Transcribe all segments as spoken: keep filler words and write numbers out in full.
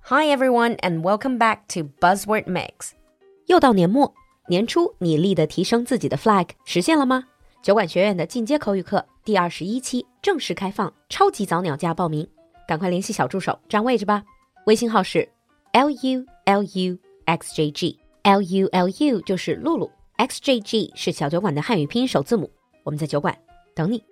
Hi everyone and welcome back to Buzzword Mix. 又到年末，年初你立的提升自己的 flag 实现了吗？酒馆学院的进阶口语课第二十一期正式开放，超级早鸟价报名，赶快联系小助手占位置吧。微信号是 L U L U X J G， L U L U 就是露露， X J G 是小酒馆的汉语拼音首字母。我们在酒馆等你。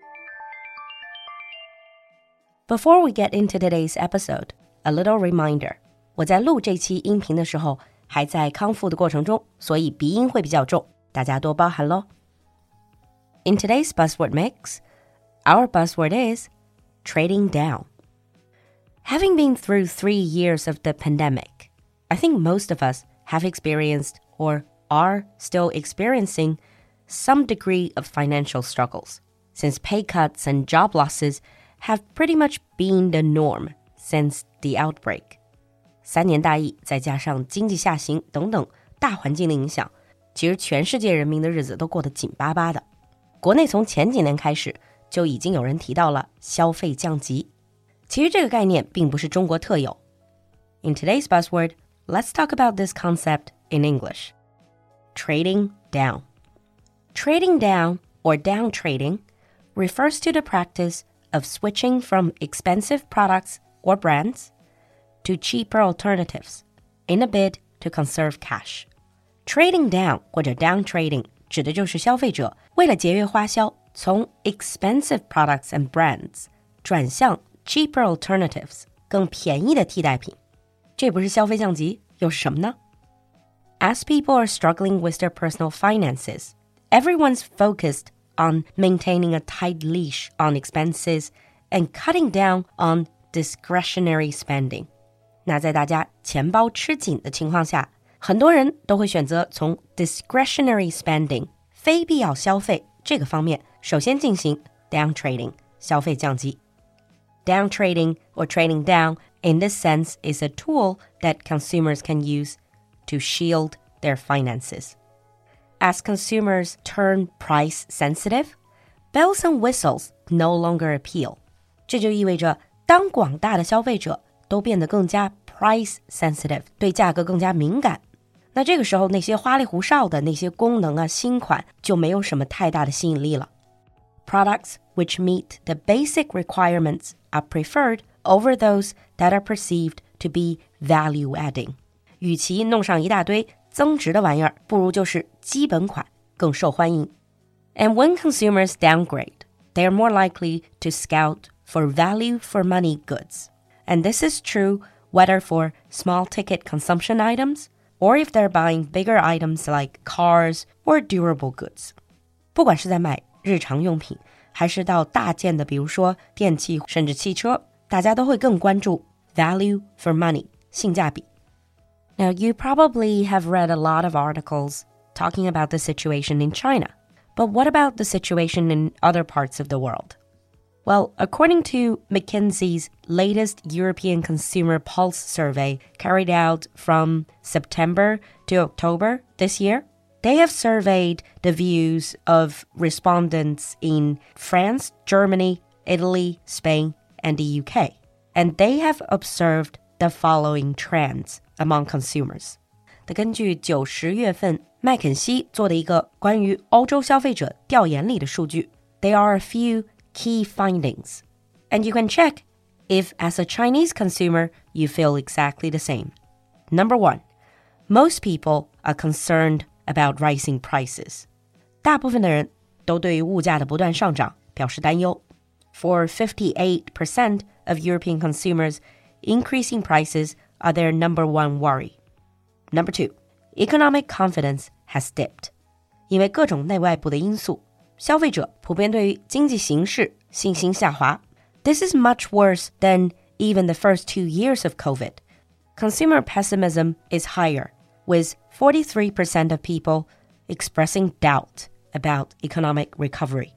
Before we get into today's episode, a little reminder. 我在录这期音频的时候还在康复的过程中，所以鼻音会比较重，大家多包涵咯。In today's buzzword mix, our buzzword is trading down. Having been through three years of the pandemic, I think most of us have experienced or are still experiencing some degree of financial struggles, since pay cuts and job losses have pretty much been the norm since the outbreak. 三年大疫再加上经济下行等等大环境的影响，其实全世界人民的日子都过得紧巴巴的。国内从前几年开始就已经有人提到了消费降级，其实这个概念并不是中国特有。In today's buzzword, let's talk about this concept in English. Trading down. Trading down or down trading refers to the practice of switching from expensive products or brands to cheaper alternatives in a bid to conserve cash. Trading down 或者 down trading 指的就是消费者为了节约花销，从 expensive products and brands 转向 cheaper alternatives 更便宜的替代品。这不是消费降级，又是什么呢？ As people are struggling with their personal finances, everyone's focused on maintaining a tight leash on expenses and cutting down on discretionary spending. 那在大家钱包吃紧的情况下，很多人都会选择从 discretionary spending 非必要消费这个方面首先进行 down trading 消费降级。Down trading or trading down in this sense is a tool that consumers can use to shield their finances. As consumers turn price sensitive, bells and whistles no longer appeal. 这就意味着当广大的消费者都变得更加 price sensitive, 对价格更加敏感，那这个时候那些花里胡哨的那些功能啊新款就没有什么太大的吸引力了。Products which meet the basic requirements are preferred over those that are perceived to be value-adding. 与其弄上一大堆增值的玩意儿，不如就是基本款更受欢迎。And when consumers downgrade, they are more likely to scout for value-for-money goods. And this is true whether for small-ticket consumption items or if they're buying bigger items like cars or durable goods. 不管是在买日常用品，还是到大件的，比如说电器甚至汽车，大家都会更关注 value for money 性价比。Now, you probably have read a lot of articles talking about the situation in China. But what about the situation in other parts of the world? Well, according to McKinsey's latest European Consumer Pulse survey carried out from September to October this year, they have surveyed the views of respondents in France, Germany, Italy, Spain, and the U K. And they have observed the following trends among consumers. 根据九十月份麦肯锡做的一个关于欧洲消费者调研里的数据 there are a few key findings. And you can check if, as a Chinese consumer, you feel exactly the same. Number one, most people are concerned about rising prices. 大部分的人都对于物价的不断上涨表示担忧。For fifty-eight percent of European consumers, increasing prices are their number one worry. Number two, economic confidence has dipped. 因为各种内外部的因素，消费者普遍对于经济形势信心下滑。This is much worse than even the first two years of COVID. Consumer pessimism is higher, with forty-three percent of people expressing doubt about economic recovery.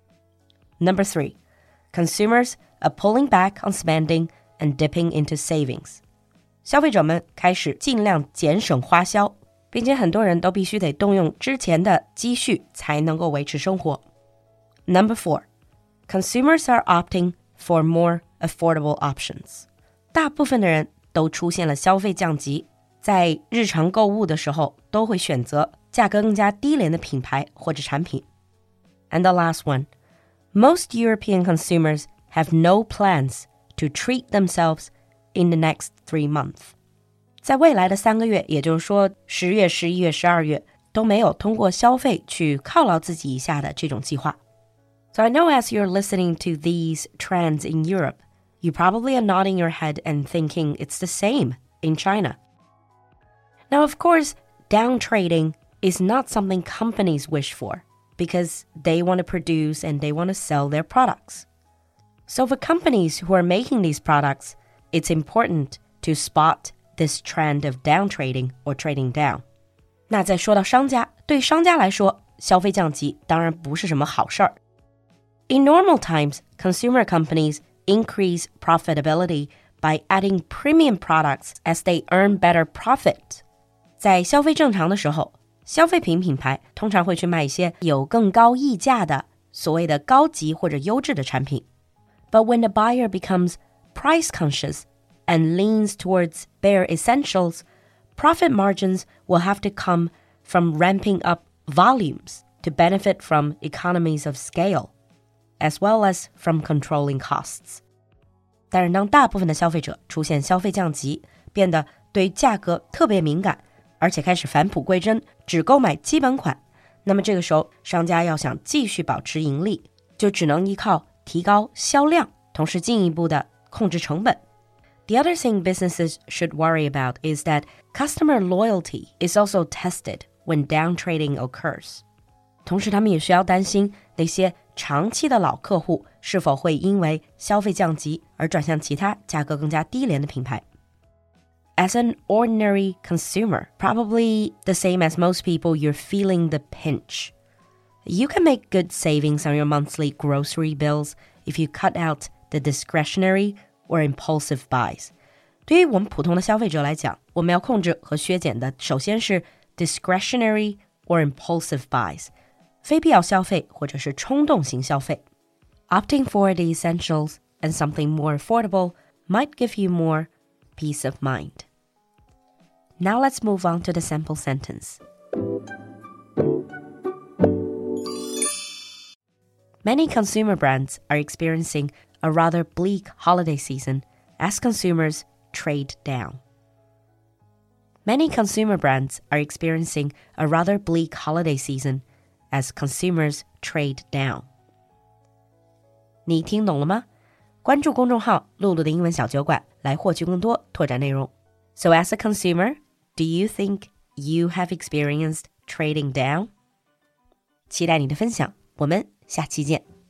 Number three, consumers are pulling back on spending and dipping into savings. 消费者们开始尽量减省花销，并且很多人都必须得动用之前的积蓄才能够维持生活。Number four, consumers are opting for more affordable options. 大部分的人都出现了消费降级，在日常购物的时候都会选择价格更加低廉的品牌或者产品。 And the last one, most European consumers have no plans to treat themselves in the next three months. 在未来的三个月，也就是说十月、十一月、十二月，都没有通过消费去犒劳自己一下的这种计划。So I know as you're listening to these trends in Europe, you probably are nodding your head and thinking it's the same in China. Now, of course, downtrading is not something companies wish for because they want to produce and they want to sell their products. So for companies who are making these products, it's important to spot this trend of downtrading or trading down. 那再说到商家，对商家来说，消费降级当然不是什么好事儿。In normal times, consumer companies increase profitability by adding premium products as they earn better profit. 在消费正常的时候，消费品品牌通常会去卖一些有更高溢价的所谓的高级或者优质的产品。But when the buyer becomes price conscious and leans towards bare essentials, profit margins will have to come from ramping up volumes to benefit from economies of scale, as well as from controlling costs. 但是当大部分的消费者出现消费降级，变得对价格特别敏感，而且开始返璞归真，只购买基本款，那么这个时候商家要想继续保持盈利，就只能依靠提高销量，同时进一步的控制成本。The other thing businesses should worry about is that customer loyalty is also tested when downtrading occurs. 同时他们也需要担心那些长期的老客户是否会因为消费降级而转向其他价格更加低廉的品牌。As an ordinary consumer, probably the same as most people, you're feeling the pinch. You can make good savings on your monthly grocery bills if you cut out the discretionary or impulsive buys. 对于我们普通的消费者来讲，我们要控制和削减的首先是 discretionary or impulsive buys, 非必要消费或者是冲动型消费。Opting for the essentials and something more affordable might give you more peace of mind. Now let's move on to the sample sentence. Many consumer brands are experiencing a rather bleak holiday season as consumers trade down. Many consumer brands are experiencing a rather bleak holiday season as consumers trade down. 你听懂了吗？关注公众号露露的英文小酒馆来获取更多拓展内容。So as a consumer, do you think you have experienced trading down? 期待你的分享，我们下期见。